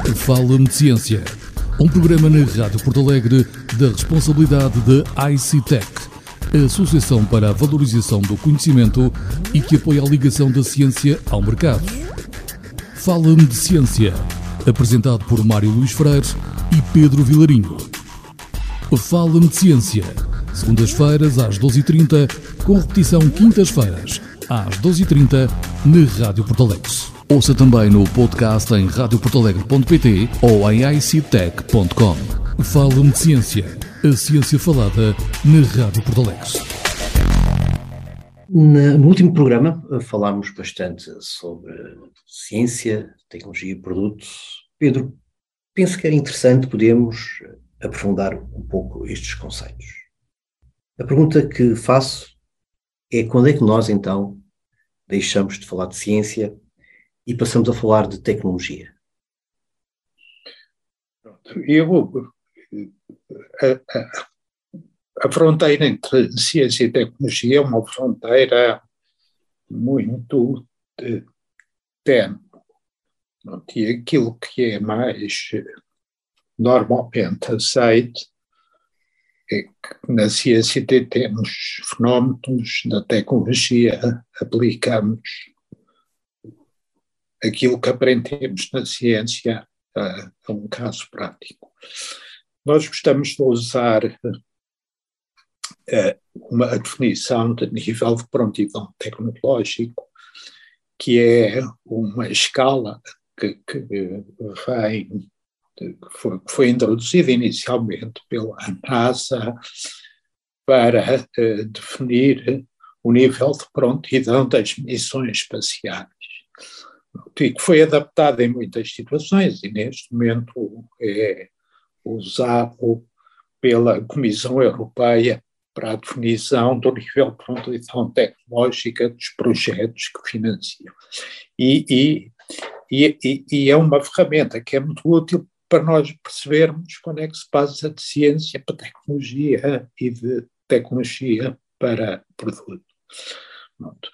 Fala-me de Ciência, um programa na Rádio Porto Alegre da responsabilidade da ICTEC, a Associação para a Valorização do Conhecimento e que apoia a ligação da ciência ao mercado. Fala-me de Ciência, apresentado por Mário Luís Freire e Pedro Vilarinho. Fala-me de Ciência, segundas-feiras às 12h30, com repetição quintas-feiras às 12h30 na Rádio Porto Alegre. Ouça também no podcast em radioportalegre.pt ou em ictec.com. Fala-me de Ciência, a ciência falada na Rádio Porto Alegre. No último programa falámos bastante sobre ciência, tecnologia e produtos. Pedro, penso que era interessante podermos aprofundar um pouco estes conceitos. A pergunta que faço é quando é que nós, então, deixamos de falar de ciência e passamos a falar de tecnologia? A fronteira entre ciência e tecnologia é uma fronteira muito tênue. E aquilo que é mais normalmente aceito é que na ciência temos fenómenos, na tecnologia aplicamos aquilo que aprendemos na ciência a um caso prático. Nós gostamos de usar uma definição de nível de prontidão tecnológico, que é uma escala que foi introduzida inicialmente pela NASA para definir o nível de prontidão das missões espaciais, e que foi adaptada em muitas situações e neste momento é usado pela Comissão Europeia para a definição do nível de prontidão tecnológica dos projetos que financiam. E é uma ferramenta que é muito útil para nós percebermos quando é que se passa de ciência para tecnologia e de tecnologia para produto. Pronto.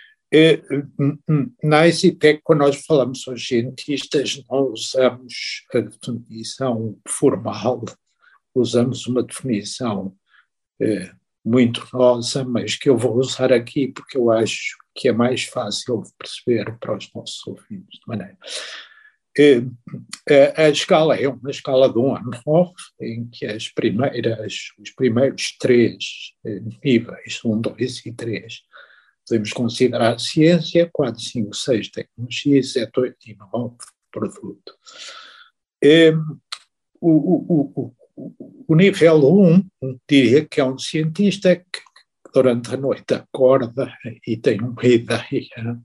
Na ICTEC, quando nós falamos aos cientistas, não usamos a definição formal, usamos uma definição muito nossa, mas que eu vou usar aqui porque eu acho que é mais fácil de perceber para os nossos ouvintes. De maneira. A escala é uma escala de 1 a 9, em que os primeiros 3 níveis, 1, 2 e 3, podemos considerar ciência, 4, 5, 6 tecnologia, 7, 8 e 9 produto. O nível 1 diria que é um cientista que durante a noite acorda e tem uma ideia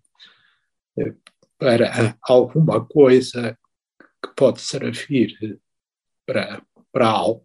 para alguma coisa que pode servir para algo.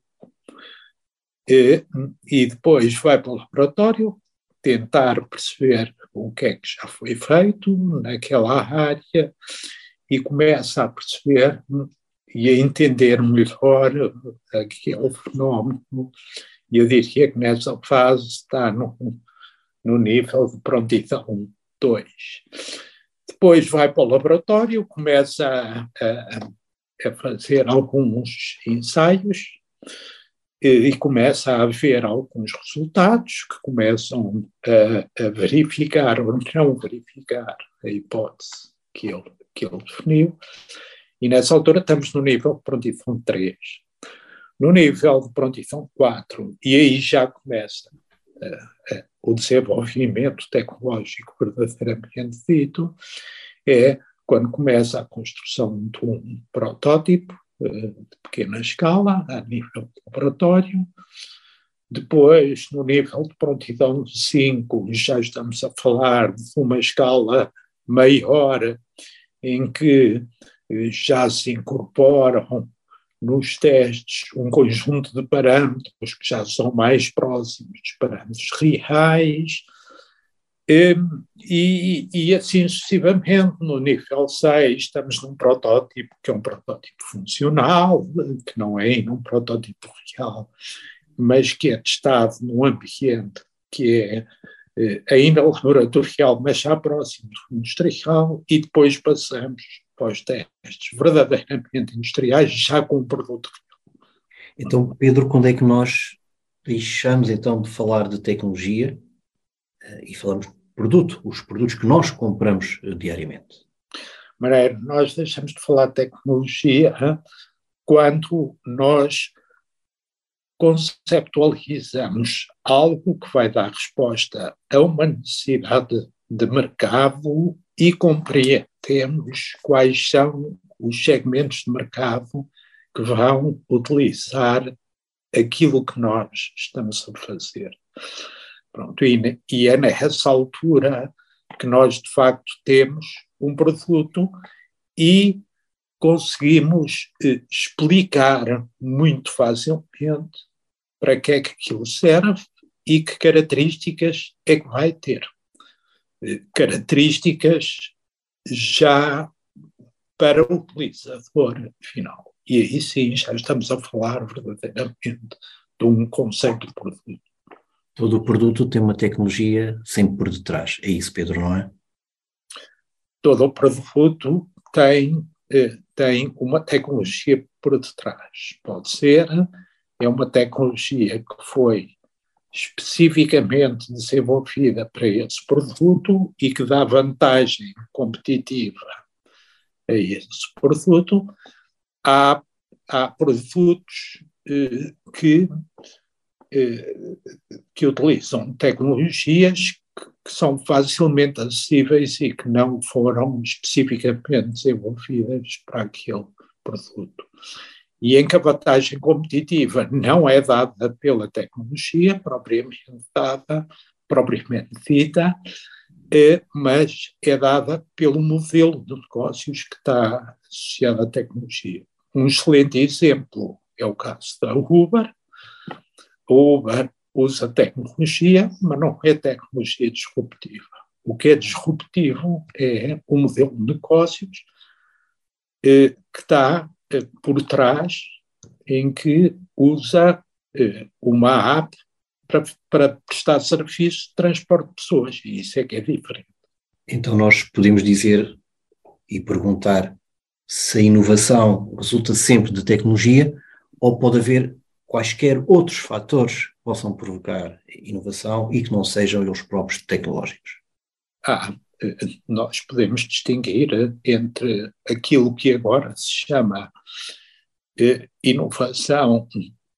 E depois vai para o laboratório tentar perceber o que é que já foi feito naquela área e começa a perceber e a entender melhor aquele fenómeno. E eu diria que nessa fase está no nível de prontidão 2. Depois vai para o laboratório, começa a fazer alguns ensaios e começa a haver alguns resultados que começam a verificar ou não verificar a hipótese que ele definiu. E nessa altura estamos no nível de prontidão 3. No nível de prontidão 4, e aí já começa o desenvolvimento tecnológico verdadeiramente dito, é quando começa a construção de um protótipo de pequena escala, a nível de laboratório. Depois, no nível de prontidão 5, já estamos a falar de uma escala maior, em que já se incorporam nos testes um conjunto de parâmetros que já são mais próximos dos parâmetros reais, e assim sucessivamente. No nível 6 estamos num protótipo que é um protótipo funcional, que não é um protótipo real, mas que é testado num ambiente que é ainda laboratorial, mas já próximo do industrial, e depois passamos para os testes verdadeiramente industriais, já com um produto real. Então, Pedro, quando é que nós deixamos então de falar de tecnologia e falamos de produto, os produtos que nós compramos diariamente? Maneiro, nós deixamos de falar de tecnologia quando nós conceptualizamos algo que vai dar resposta a uma necessidade de mercado e compreendemos quais são os segmentos de mercado que vão utilizar aquilo que nós estamos a fazer. Pronto, e é nessa altura que nós, de facto, temos um produto e conseguimos explicar muito facilmente para que é que aquilo serve e que características é que vai ter. Características já para o utilizador final. E aí sim já estamos a falar verdadeiramente de um conceito de produto. Todo o produto tem uma tecnologia sempre por detrás. É isso, Pedro, não é? Todo o produto tem uma tecnologia por detrás. Pode ser, é uma tecnologia que foi especificamente desenvolvida para esse produto e que dá vantagem competitiva a esse produto. Há produtos que utilizam tecnologias que são facilmente acessíveis e que não foram especificamente desenvolvidas para aquele produto. E em que a vantagem competitiva não é dada pela tecnologia propriamente dita, mas é dada pelo modelo de negócios que está associado à tecnologia. Um excelente exemplo é o caso da Uber. A Uber usa tecnologia, mas não é tecnologia disruptiva. O que é disruptivo é o modelo de negócios que está por trás, em que usa uma app para prestar serviço de transporte de pessoas, e isso é que é diferente. Então nós podemos dizer e perguntar se a inovação resulta sempre de tecnologia ou pode haver quaisquer outros fatores que possam provocar inovação e que não sejam eles próprios tecnológicos. Nós podemos distinguir entre aquilo que agora se chama inovação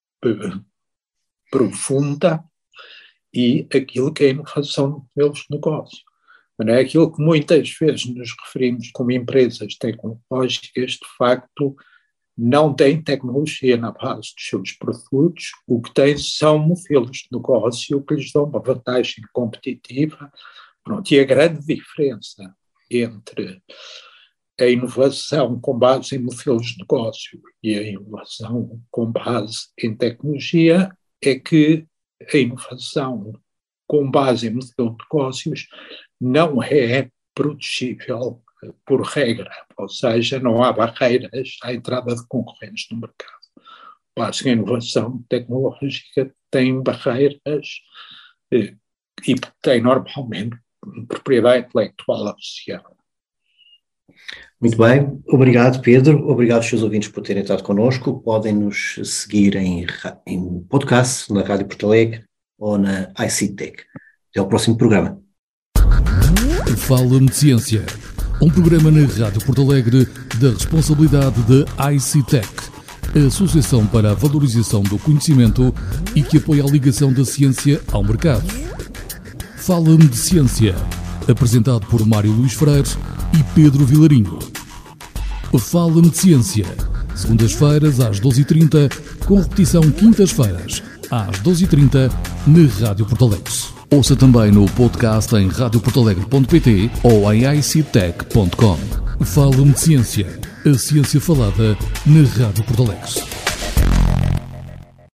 profunda e aquilo que é inovação de modelos de negócio. Não é aquilo que muitas vezes nos referimos como empresas tecnológicas, de facto, não têm tecnologia na base dos seus produtos, o que têm são modelos de negócio que lhes dão uma vantagem competitiva. Pronto, e a grande diferença entre a inovação com base em modelos de negócio e a inovação com base em tecnologia é que a inovação com base em modelo de negócios não é produzível por regra, ou seja, não há barreiras à entrada de concorrentes no mercado. A inovação tecnológica tem barreiras e tem normalmente propriedade intelectual associada. Muito bem, obrigado Pedro, obrigado aos seus ouvintes por terem estado connosco. Podem nos seguir em podcast, na Rádio Porto Alegre ou na ICTech. Até ao próximo programa. Fala-me de Ciência, um programa na Rádio Porto Alegre da responsabilidade da ICTech, a Associação para a Valorização do Conhecimento e que apoia a ligação da ciência ao mercado. Fala-me de Ciência, apresentado por Mário Luís Freire e Pedro Vilarinho. Fala-me de Ciência, segundas-feiras às 12h30, com repetição quintas-feiras às 12h30 na Rádio Porto Alegre. Ouça também no podcast em radioportalegre.pt ou em ictech.com. Fala-me de Ciência, a ciência falada na Rádio Porto Alegre.